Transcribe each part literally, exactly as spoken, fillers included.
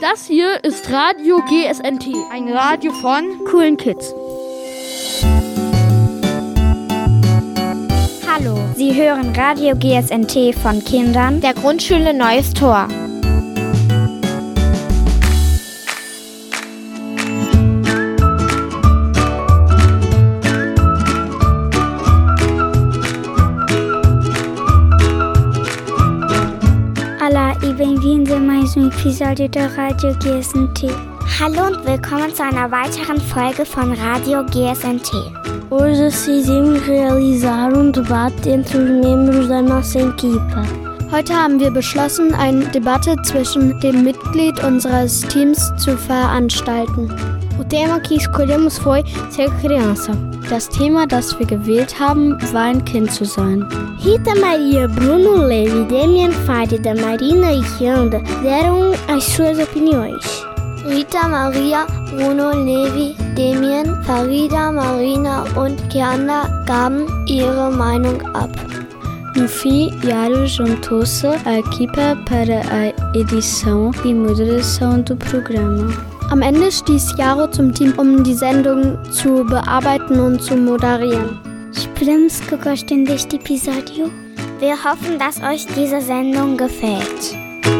Das hier ist Radio G S N T, ein Radio von coolen Kids. Hallo, Sie hören Radio G S N T von Kindern der Grundschule Neues Tor. Olá e bem-vindos a mais um episódio da Radio G S N T. Hallo und willkommen zu einer weiteren Folge von Radio G S N T. Hoje decidimos realizar um debate entre os membros da nossa equipa. Heute haben wir beschlossen, eine Debatte zwischen dem Mitglied unseres Teams zu veranstalten. O tema que escolhemos foi ser criança. Das Thema, das wir gewählt haben, war ein Kind zu sein. Rita, Maria, Bruno, Levi, Demian, Farida, Marina e Kianda deram as suas opiniões. Rita, Maria, Bruno, Levi, Demian, Farida, Marina und Kianda gaben ihre Meinung ab. No fim, Yaro juntou-se à equipa para a edição e moderação do programa. Am Ende stieß Yaro zum Team, um die Sendung zu bearbeiten und zu moderieren. Esperamos que gostem deste episódio. Wir hoffen, dass euch diese Sendung gefällt.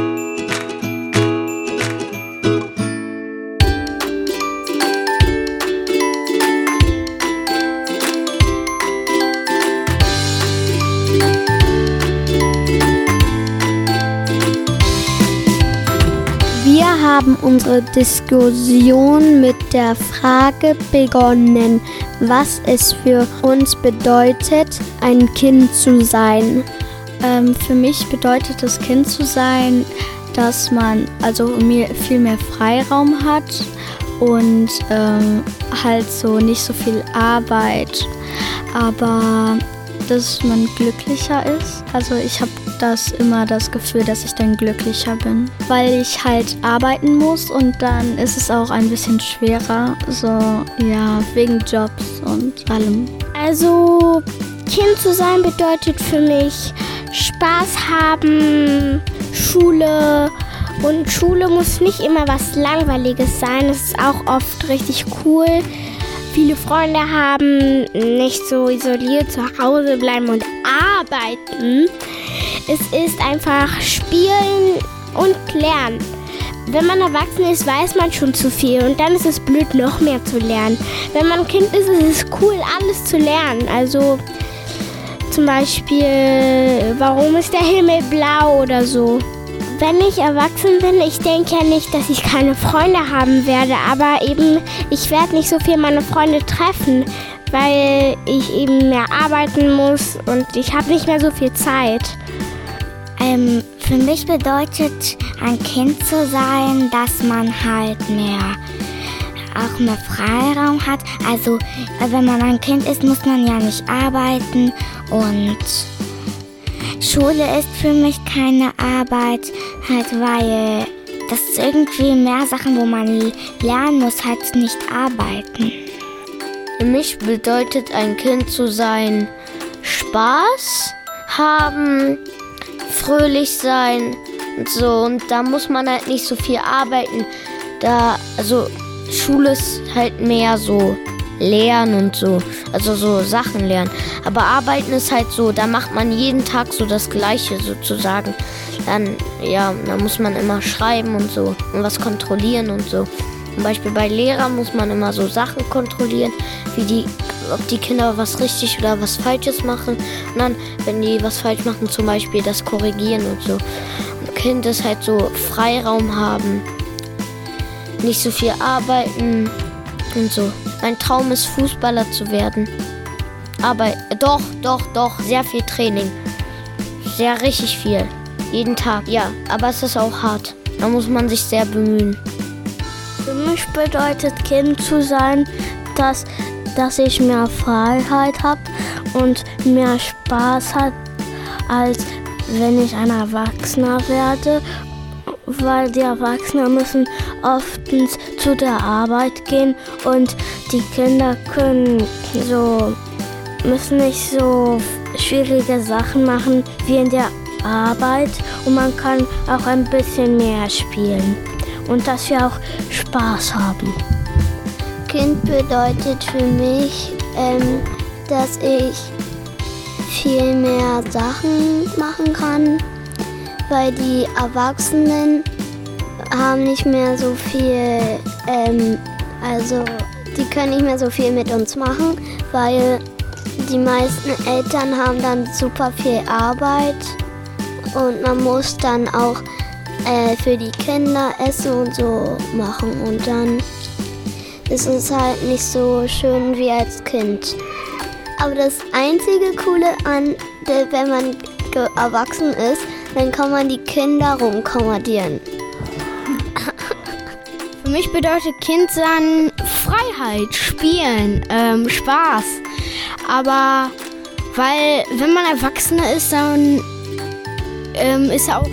Wir haben unsere Diskussion mit der Frage begonnen, was es für uns bedeutet, ein Kind zu sein. Ähm, für mich bedeutet das Kind zu sein, dass man also mir viel mehr Freiraum hat und ähm, halt so nicht so viel Arbeit, aber dass man glücklicher ist. Also ich habe das immer das Gefühl, dass ich dann glücklicher bin, weil ich halt arbeiten muss und dann ist es auch ein bisschen schwerer, so ja, wegen Jobs und allem. Also Kind zu sein bedeutet für mich Spaß haben, Schule, und Schule muss nicht immer was Langweiliges sein, es ist auch oft richtig cool. Viele Freunde haben, nicht so isoliert zu Hause bleiben und arbeiten. Es ist einfach spielen und lernen. Wenn man erwachsen ist, weiß man schon zu viel und dann ist es blöd, noch mehr zu lernen. Wenn man ein Kind ist, ist es cool, alles zu lernen. Also zum Beispiel, warum ist der Himmel blau oder so. Wenn ich erwachsen bin, ich denke ja nicht, dass ich keine Freunde haben werde, aber eben, ich werde nicht so viel meine Freunde treffen, weil ich eben mehr arbeiten muss und ich habe nicht mehr so viel Zeit. Ähm, für mich bedeutet ein Kind zu sein, dass man halt mehr, auch mehr Freiraum hat. Also wenn man ein Kind ist, muss man ja nicht arbeiten und Schule ist für mich keine Arbeit, halt weil das ist irgendwie mehr Sachen, wo man lernen muss, halt nicht arbeiten. Für mich bedeutet ein Kind zu sein, Spaß haben, fröhlich sein und so. Und da muss man halt nicht so viel arbeiten. Da, also Schule ist halt mehr so lernen und so, also so Sachen lernen. Aber arbeiten ist halt so, da macht man jeden Tag so das Gleiche sozusagen. Dann, ja, da muss man immer schreiben und so und was kontrollieren und so. Zum Beispiel bei Lehrern muss man immer so Sachen kontrollieren, wie die, ob die Kinder was richtig oder was Falsches machen. Und dann, wenn die was falsch machen, zum Beispiel das korrigieren und so. Und Kind ist halt so Freiraum haben, nicht so viel arbeiten und so. Mein Traum ist, Fußballer zu werden. Aber doch, doch, doch, sehr viel Training. Sehr richtig viel. Jeden Tag, ja. Aber es ist auch hart. Da muss man sich sehr bemühen. Für mich bedeutet Kind zu sein, dass, dass ich mehr Freiheit habe und mehr Spaß habe, als wenn ich ein Erwachsener werde. Weil die Erwachsenen müssen oftens zu der Arbeit gehen und die Kinder können so, müssen nicht so schwierige Sachen machen wie in der Arbeit und man kann auch ein bisschen mehr spielen. und dass wir auch Spaß haben. Kind bedeutet für mich, ähm, dass ich viel mehr Sachen machen kann, weil die Erwachsenen haben nicht mehr so viel, ähm, also die können nicht mehr so viel mit uns machen, weil die meisten Eltern haben dann super viel Arbeit und man muss dann auch äh, für die Kinder Essen und so machen und dann ist es halt nicht so schön wie als Kind. Aber das einzige Coole an, wenn man erwachsen ist, dann kann man die Kinder rumkommandieren. Für mich bedeutet Kindsein Freiheit, Spielen, ähm, Spaß. Aber weil, wenn man Erwachsener ist, dann ähm, ist auch,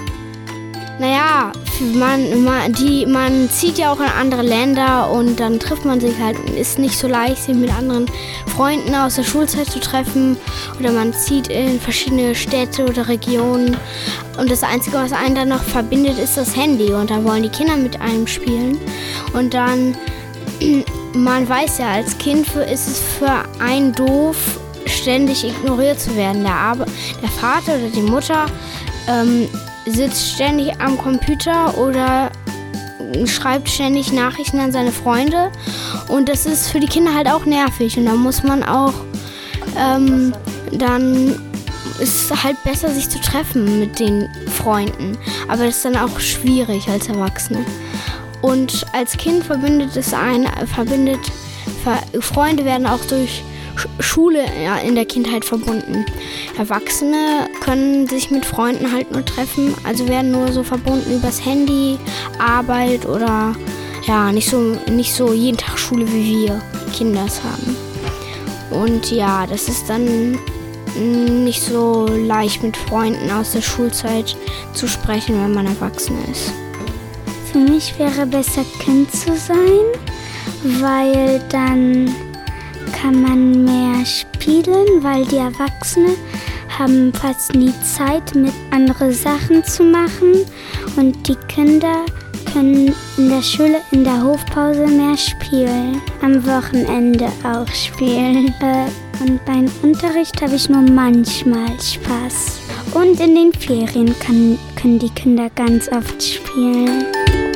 naja, man, man, die, man zieht ja auch in andere Länder und dann trifft man sich halt, ist nicht so leicht, sich mit anderen Freunden aus der Schulzeit zu treffen oder man zieht in verschiedene Städte oder Regionen und das Einzige, was einen dann noch verbindet, ist das Handy und dann wollen die Kinder mit einem spielen und dann, man weiß ja, als Kind ist es für einen doof, ständig ignoriert zu werden. Der, Ar- der Vater oder die Mutter ähm, sitzt ständig am Computer oder schreibt ständig Nachrichten an seine Freunde und das ist für die Kinder halt auch nervig und da muss man auch, ähm, dann ist es halt besser, sich zu treffen mit den Freunden, aber das ist dann auch schwierig als Erwachsene. Und als Kind verbindet es einen, verbindet, Freunde werden auch durch Schule in der Kindheit verbunden. Erwachsene können sich mit Freunden halt nur treffen, also werden nur so verbunden übers Handy, Arbeit oder ja, nicht so, nicht so jeden Tag Schule, wie wir Kinder es haben. Und ja, das ist dann nicht so leicht mit Freunden aus der Schulzeit zu sprechen, wenn man erwachsen ist. Für mich wäre besser, Kind zu sein, weil dann kann man mehr spielen, weil die Erwachsenen haben fast nie Zeit, mit andere Sachen zu machen und die Kinder können in der Schule in der Hofpause mehr spielen, am Wochenende auch spielen. Äh, und beim Unterricht habe ich nur manchmal Spaß. Und in den Ferien kann, können die Kinder ganz oft spielen.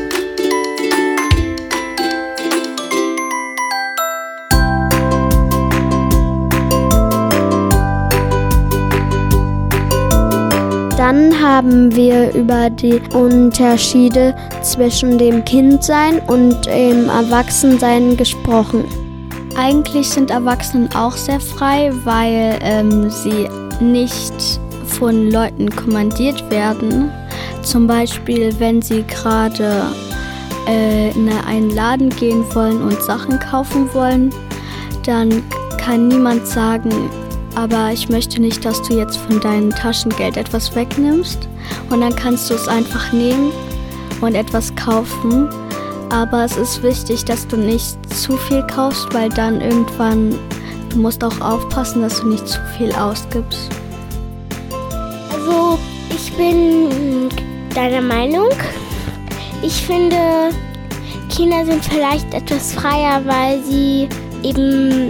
Dann haben wir über die Unterschiede zwischen dem Kindsein und dem Erwachsensein gesprochen. Eigentlich sind Erwachsene auch sehr frei, weil ähm, sie nicht von Leuten kommandiert werden. Zum Beispiel, wenn sie gerade äh, in einen Laden gehen wollen und Sachen kaufen wollen, dann kann niemand sagen, aber ich möchte nicht, dass du jetzt von deinem Taschengeld etwas wegnimmst. Und dann kannst du es einfach nehmen und etwas kaufen. Aber es ist wichtig, dass du nicht zu viel kaufst, weil dann irgendwann, du musst auch aufpassen, dass du nicht zu viel ausgibst. Also, ich bin deiner Meinung. Ich finde, Kinder sind vielleicht etwas freier, weil sie eben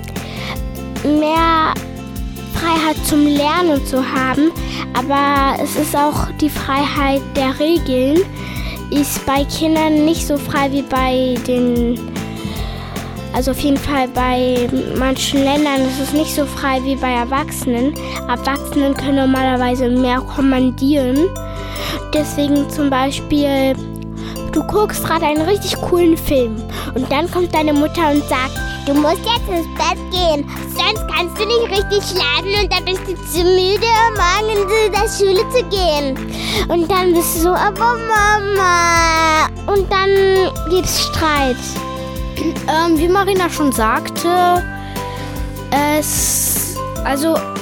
mehr Freiheit zum Lernen zu haben, aber es ist auch die Freiheit der Regeln, ist bei Kindern nicht so frei wie bei den, also auf jeden Fall bei manchen Ländern ist es nicht so frei wie bei Erwachsenen. Erwachsenen können normalerweise mehr kommandieren. Deswegen zum Beispiel, du guckst gerade einen richtig coolen Film und dann kommt deine Mutter und sagt, du musst jetzt ins Bett gehen, sonst kannst du nicht richtig schlafen und dann bist du zu müde, morgen in der Schule zu gehen. Und dann bist du so, aber Mama. Und dann gibt's Streit. Ähm, wie Marina schon sagte, es, also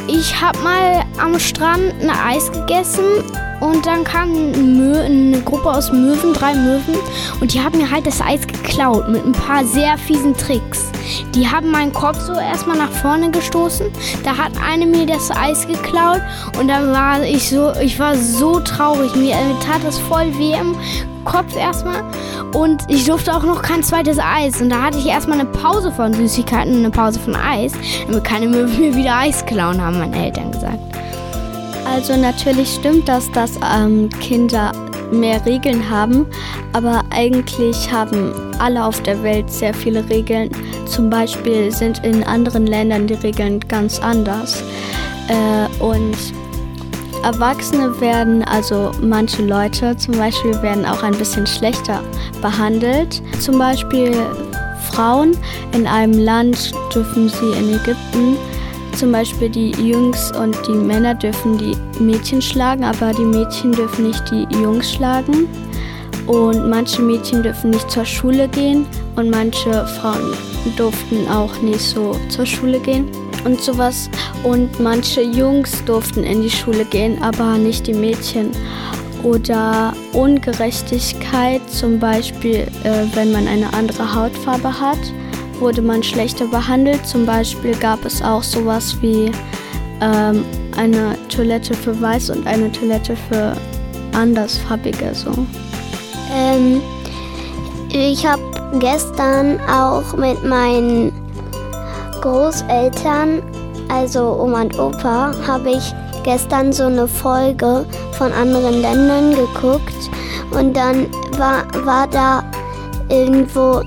ich habe mal am Strand ein Eis gegessen und dann kam Mö- eine Gruppe aus Möwen, drei Möwen, und die haben mir halt das Eis geklaut mit ein paar sehr fiesen Tricks. Die haben meinen Kopf so erstmal nach vorne gestoßen, da hat eine mir das Eis geklaut und dann war ich so, ich war so traurig, mir tat das voll weh im Kopf erstmal und ich durfte auch noch kein zweites Eis und da hatte ich erstmal eine Pause von Süßigkeiten und eine Pause von Eis, damit keine Möwen mir wieder Eis klauen, haben meine Eltern gesagt. Also natürlich stimmt das, dass ähm, Kinder mehr Regeln haben, aber eigentlich haben alle auf der Welt sehr viele Regeln. Zum Beispiel sind in anderen Ländern die Regeln ganz anders. Äh, und Erwachsene werden, also manche Leute zum Beispiel, werden auch ein bisschen schlechter behandelt. Zum Beispiel Frauen in einem Land dürfen sie in Ägypten, zum Beispiel die Jungs und die Männer dürfen die Mädchen schlagen, aber die Mädchen dürfen nicht die Jungs schlagen. Und manche Mädchen dürfen nicht zur Schule gehen und manche Frauen durften auch nicht so zur Schule gehen und sowas. Und manche Jungs durften in die Schule gehen, aber nicht die Mädchen. Oder Ungerechtigkeit, zum Beispiel, äh, wenn man eine andere Hautfarbe hat, wurde man schlechter behandelt. Zum Beispiel gab es auch sowas wie ähm, eine Toilette für Weiß und eine Toilette für Andersfarbige. So. Ähm, ich habe gestern auch mit meinen Großeltern, also Oma und Opa, habe ich gestern so eine Folge von anderen Ländern geguckt und dann war, war da irgendwo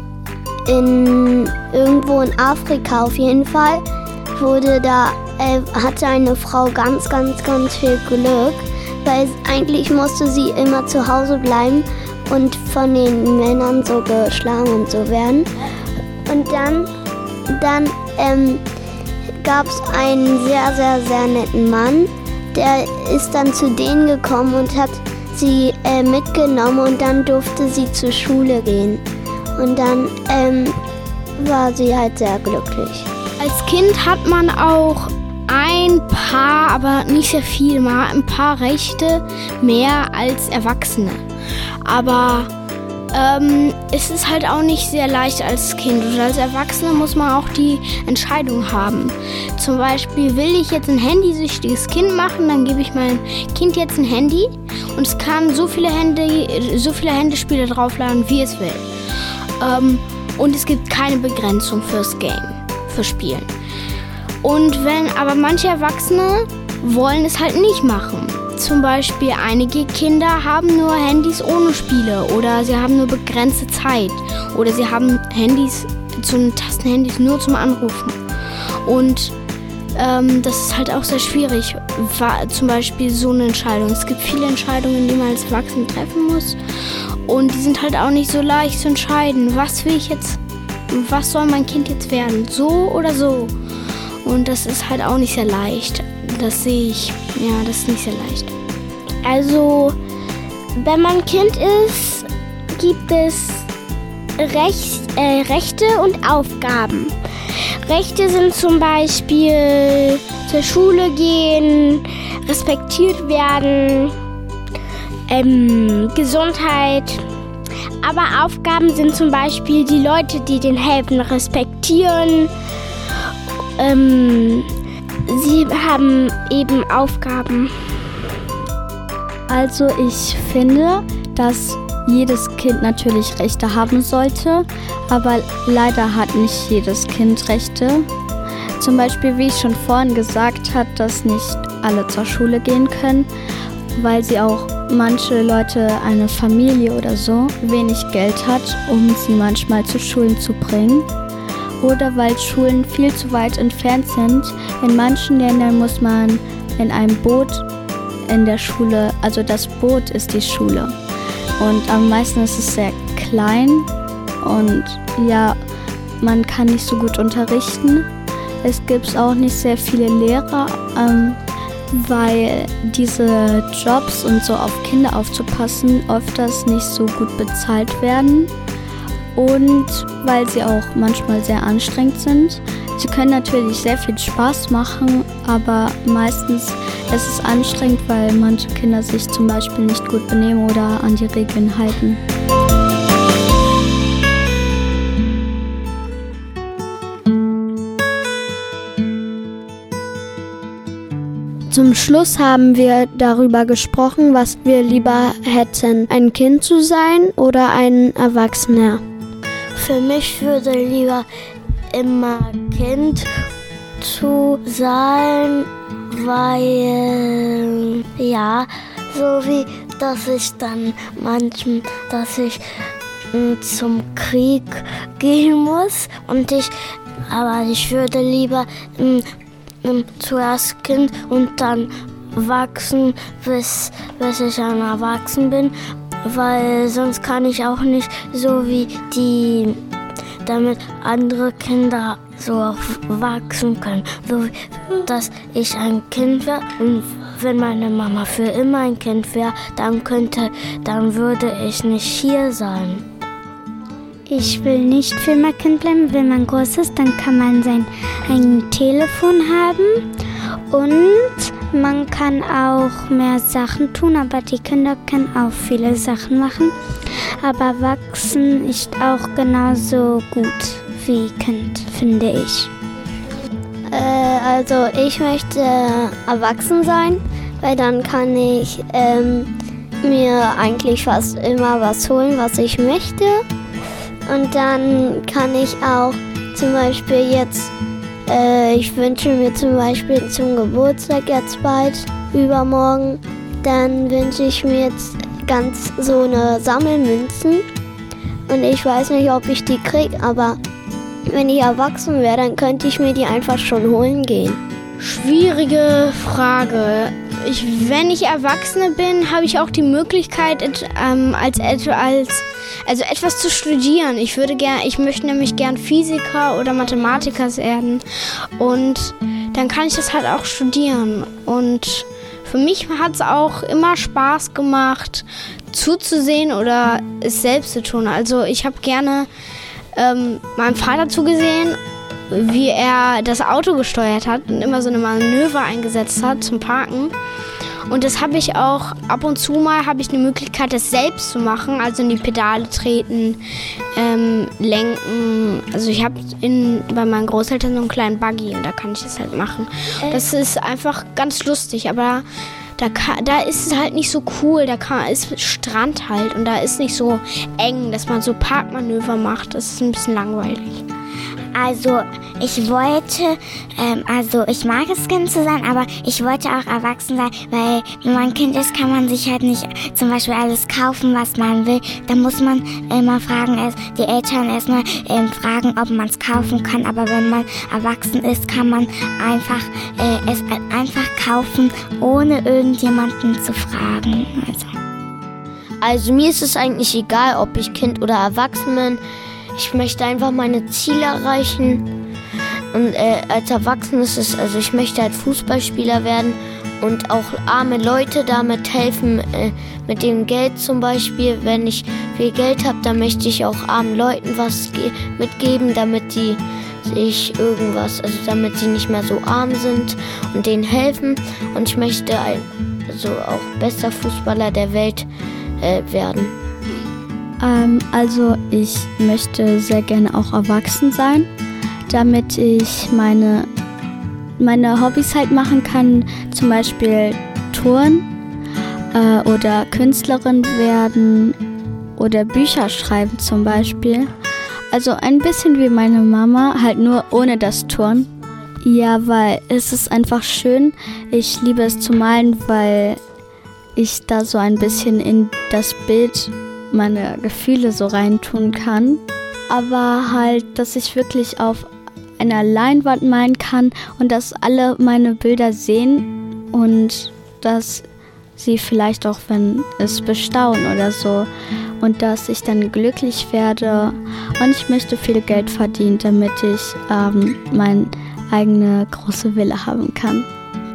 in, irgendwo in Afrika auf jeden Fall, wurde da, äh, hatte eine Frau ganz, ganz, ganz viel Glück, weil eigentlich musste sie immer zu Hause bleiben und von den Männern so geschlagen und so werden. Und dann, dann ähm, gab es einen sehr, sehr, sehr netten Mann, der ist dann zu denen gekommen und hat sie äh, mitgenommen und dann durfte sie zur Schule gehen. Und dann ähm, war sie halt sehr glücklich. Als Kind hat man auch ein paar, aber nicht sehr viel, mal ein paar Rechte mehr als Erwachsene. Aber ähm, es ist halt auch nicht sehr leicht als Kind. Und als Erwachsene muss man auch die Entscheidung haben. Zum Beispiel, will ich jetzt ein handysüchtiges Kind machen, dann gebe ich meinem Kind jetzt ein Handy und es kann so viele Handy, so viele Handyspiele draufladen, wie es will. Ähm, und es gibt keine Begrenzung fürs Game, für Spielen. Und wenn aber manche Erwachsene wollen es halt nicht machen. Zum Beispiel einige Kinder haben nur Handys ohne Spiele oder sie haben nur begrenzte Zeit oder sie haben Handys, so Tastenhandys nur zum Anrufen. Und ähm, das ist halt auch sehr schwierig, war zum Beispiel so eine Entscheidung. Es gibt viele Entscheidungen, die man als Erwachsene treffen muss und die sind halt auch nicht so leicht zu entscheiden. Was will ich jetzt, was soll mein Kind jetzt werden, so oder so? Und das ist halt auch nicht sehr leicht. Das sehe ich, ja, das ist nicht sehr leicht. Also, wenn man Kind ist, gibt es Recht, äh, Rechte und Aufgaben. Rechte sind zum Beispiel zur Schule gehen, respektiert werden, ähm, Gesundheit. Aber Aufgaben sind zum Beispiel die Leute, die den helfen, respektieren. Ähm, sie haben eben Aufgaben. Also ich finde, dass jedes Kind natürlich Rechte haben sollte, aber leider hat nicht jedes Kind Rechte. Zum Beispiel, wie ich schon vorhin gesagt habe, dass nicht alle zur Schule gehen können, weil sie auch manche Leute, eine Familie oder so, wenig Geld hat, um sie manchmal zu Schulen zu bringen. Oder weil Schulen viel zu weit entfernt sind. In manchen Ländern muss man in einem Boot in der Schule, also das Boot ist die Schule. Und am meisten ist es sehr klein und ja, man kann nicht so gut unterrichten. Es gibt auch nicht sehr viele Lehrer, ähm, weil diese Jobs und so auf Kinder aufzupassen öfters nicht so gut bezahlt werden. und weil sie auch manchmal sehr anstrengend sind. Sie können natürlich sehr viel Spaß machen, aber meistens ist es anstrengend, weil manche Kinder sich zum Beispiel nicht gut benehmen oder an die Regeln halten. Zum Schluss haben wir darüber gesprochen, was wir lieber hätten, ein Kind zu sein oder ein Erwachsener. Für mich würde lieber immer Kind zu sein, weil, ja, so wie, dass ich dann manchmal, dass ich m, zum Krieg gehen muss und ich, aber ich würde lieber m, m, zuerst Kind und dann wachsen, bis, bis ich ein Erwachsen bin, weil sonst kann ich auch nicht so wie die, damit andere Kinder so auch wachsen können, so dass ich ein Kind wäre und wenn meine Mama für immer ein Kind wäre, dann könnte, dann würde ich nicht hier sein. Ich will nicht für immer Kind bleiben. Wenn man groß ist, dann kann man sein eigenes Telefon haben und man kann auch mehr Sachen tun, aber die Kinder können auch viele Sachen machen. Aber wachsen ist auch genauso gut wie Kind, finde ich. Äh, also ich möchte erwachsen sein, weil dann kann ich ähm, mir eigentlich fast immer was holen, was ich möchte. Und dann kann ich auch zum Beispiel jetzt, äh, ich wünsche mir zum Beispiel zum Geburtstag jetzt bald, übermorgen, dann wünsche ich mir jetzt ganz so eine Sammelmünzen. Und ich weiß nicht, ob ich die kriege, aber wenn ich erwachsen wäre, dann könnte ich mir die einfach schon holen gehen. Schwierige Frage. Ich, wenn ich Erwachsene bin, habe ich auch die Möglichkeit, et, ähm, als, als, also etwas zu studieren. Ich würde gern, ich möchte nämlich gern Physiker oder Mathematiker werden. Und dann kann ich das halt auch studieren. Und für mich hat es auch immer Spaß gemacht, zuzusehen oder es selbst zu tun. Also ich habe gerne ähm, meinem Vater zugesehen, wie er das Auto gesteuert hat und immer so eine Manöver eingesetzt hat zum Parken. Und das habe ich auch ab und zu mal, habe ich eine Möglichkeit, das selbst zu machen, also in die Pedale treten, ähm, lenken. Also ich habe bei meinen Großeltern so einen kleinen Buggy und da kann ich das halt machen. Das ist einfach ganz lustig, aber da, kann, da ist es halt nicht so cool, da kann, ist Strand halt und da ist nicht so eng, dass man so Parkmanöver macht. Das ist ein bisschen langweilig. Also ich wollte, ähm, also ich mag es, Kind zu sein, aber ich wollte auch erwachsen sein, weil wenn man Kind ist, kann man sich halt nicht zum Beispiel alles kaufen, was man will. Da muss man immer fragen, erst die Eltern erstmal ähm, fragen, ob man es kaufen kann. Aber wenn man erwachsen ist, kann man einfach äh, es einfach kaufen, ohne irgendjemanden zu fragen. Also. also mir ist es eigentlich egal, ob ich Kind oder erwachsen bin. Ich möchte einfach meine Ziele erreichen und äh, als Erwachsener ist es, also ich möchte halt Fußballspieler werden und auch arme Leute damit helfen, äh, mit dem Geld zum Beispiel. Wenn ich viel Geld habe, dann möchte ich auch armen Leuten was ge- mitgeben, damit die sich irgendwas, also damit sie nicht mehr so arm sind und denen helfen. Und ich möchte ein, also auch bester Fußballer der Welt äh, werden. Ähm, also ich möchte sehr gerne auch erwachsen sein, damit ich meine, meine Hobbys halt machen kann, zum Beispiel Touren äh, oder Künstlerin werden oder Bücher schreiben zum Beispiel. Also ein bisschen wie meine Mama, halt nur ohne das Turnen. Ja, weil es ist einfach schön. Ich liebe es zu malen, weil ich da so ein bisschen in das Bild meine Gefühle so reintun kann, aber halt, dass ich wirklich auf einer Leinwand malen kann und dass alle meine Bilder sehen und dass sie vielleicht auch, wenn es bestaunen oder so und dass ich dann glücklich werde und ich möchte viel Geld verdienen, damit ich ähm, meine eigene große Villa haben kann.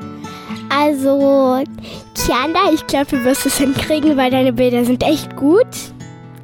Also, Kianda, ich glaube, du wirst es hinkriegen, weil deine Bilder sind echt gut.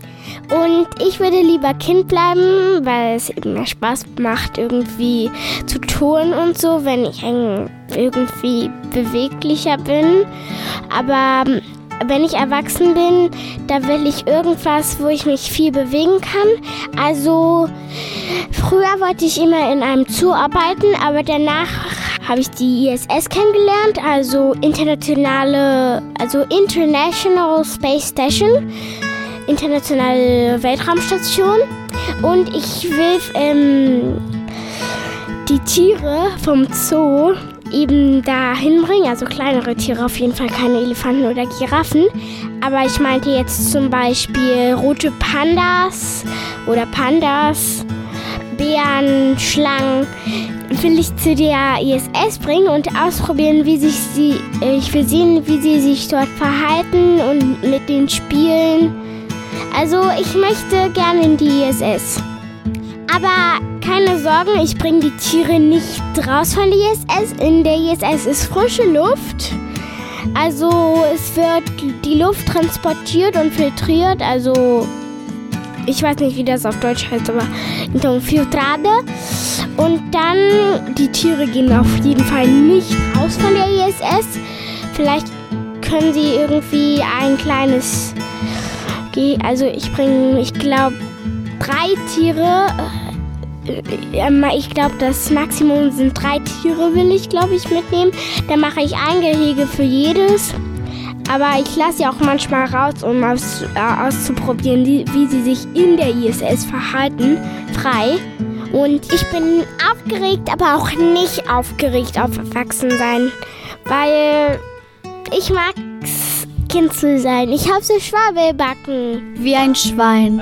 Und ich würde lieber Kind bleiben, weil es eben mehr Spaß macht, irgendwie zu tun und so, wenn ich irgendwie beweglicher bin. Aber wenn ich erwachsen bin, da will ich irgendwas, wo ich mich viel bewegen kann. Also früher wollte ich immer in einem Zoo arbeiten, aber danach habe ich die I S S kennengelernt, also internationale, also International Space Station, internationale Weltraumstation. Und ich will ähm, die Tiere vom Zoo eben dahin bringen, also kleinere Tiere, auf jeden Fall keine Elefanten oder Giraffen. Aber ich meinte jetzt zum Beispiel rote Pandas oder Pandas, Bären, Schlangen, will ich zu der I S S bringen und ausprobieren, wie sich sie, ich will sehen, wie sie sich dort verhalten und mit denen spielen. Also ich möchte gerne in die I S S. Aber keine Sorgen, ich bringe die Tiere nicht raus von der I S S. In der I S S ist frische Luft. Also es wird die Luft transportiert und filtriert. Also ich weiß nicht, wie das auf Deutsch heißt, aber então filtrada. Und dann, die Tiere gehen auf jeden Fall nicht raus von der I S S. Vielleicht können sie irgendwie ein kleines... Also ich bringe, ich glaube, drei Tiere... Ich glaube, das Maximum sind drei Tiere, will ich, glaube ich, mitnehmen. Dann mache ich ein Gehege für jedes. Aber ich lasse sie auch manchmal raus, um aus, äh, auszuprobieren, wie, wie sie sich in der I S S verhalten, frei. Und ich bin aufgeregt, aber auch nicht aufgeregt auf Erwachsensein, weil ich mag es, Kind zu sein. Ich habe so Schwabelbacken. Wie ein Schwein.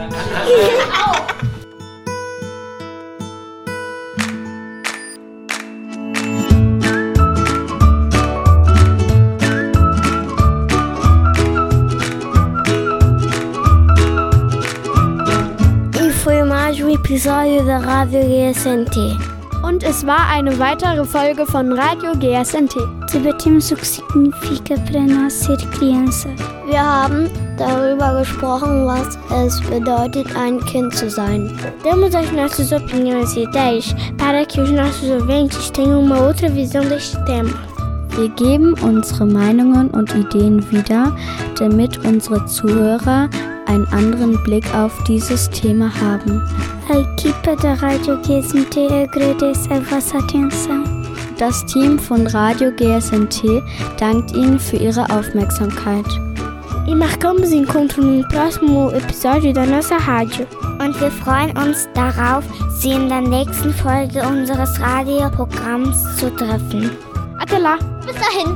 Episódio da Rádio G S N T. Und es war eine weitere Folge von Radio G S N T. Debatimos o que significa para nós ser criança. Wir haben darüber gesprochen, was es bedeutet, ein Kind zu sein. Damos as nossas opiniões e ideias para que os nossos ouvintes tenham uma outra visão deste tema. Wir geben unsere Meinungen und Ideen wieder, damit unsere Zuhörer einen anderen Blick auf dieses Thema haben. A equipa da Rádio G S N T agradece a vossa atenção. Das Team von Radio G S N T dankt Ihnen für Ihre Aufmerksamkeit. E marcamos encontro no próximo episódio da nossa rádio. Und wir freuen uns darauf, Sie in der nächsten Folge unseres Radioprogramms zu treffen. Até lá! Bis dahin!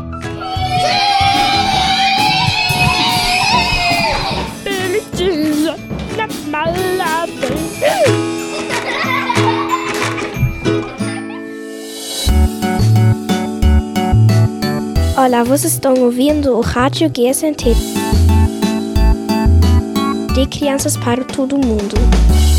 Olá, vocês estão ouvindo o Rádio G S N T. De crianças para todo mundo.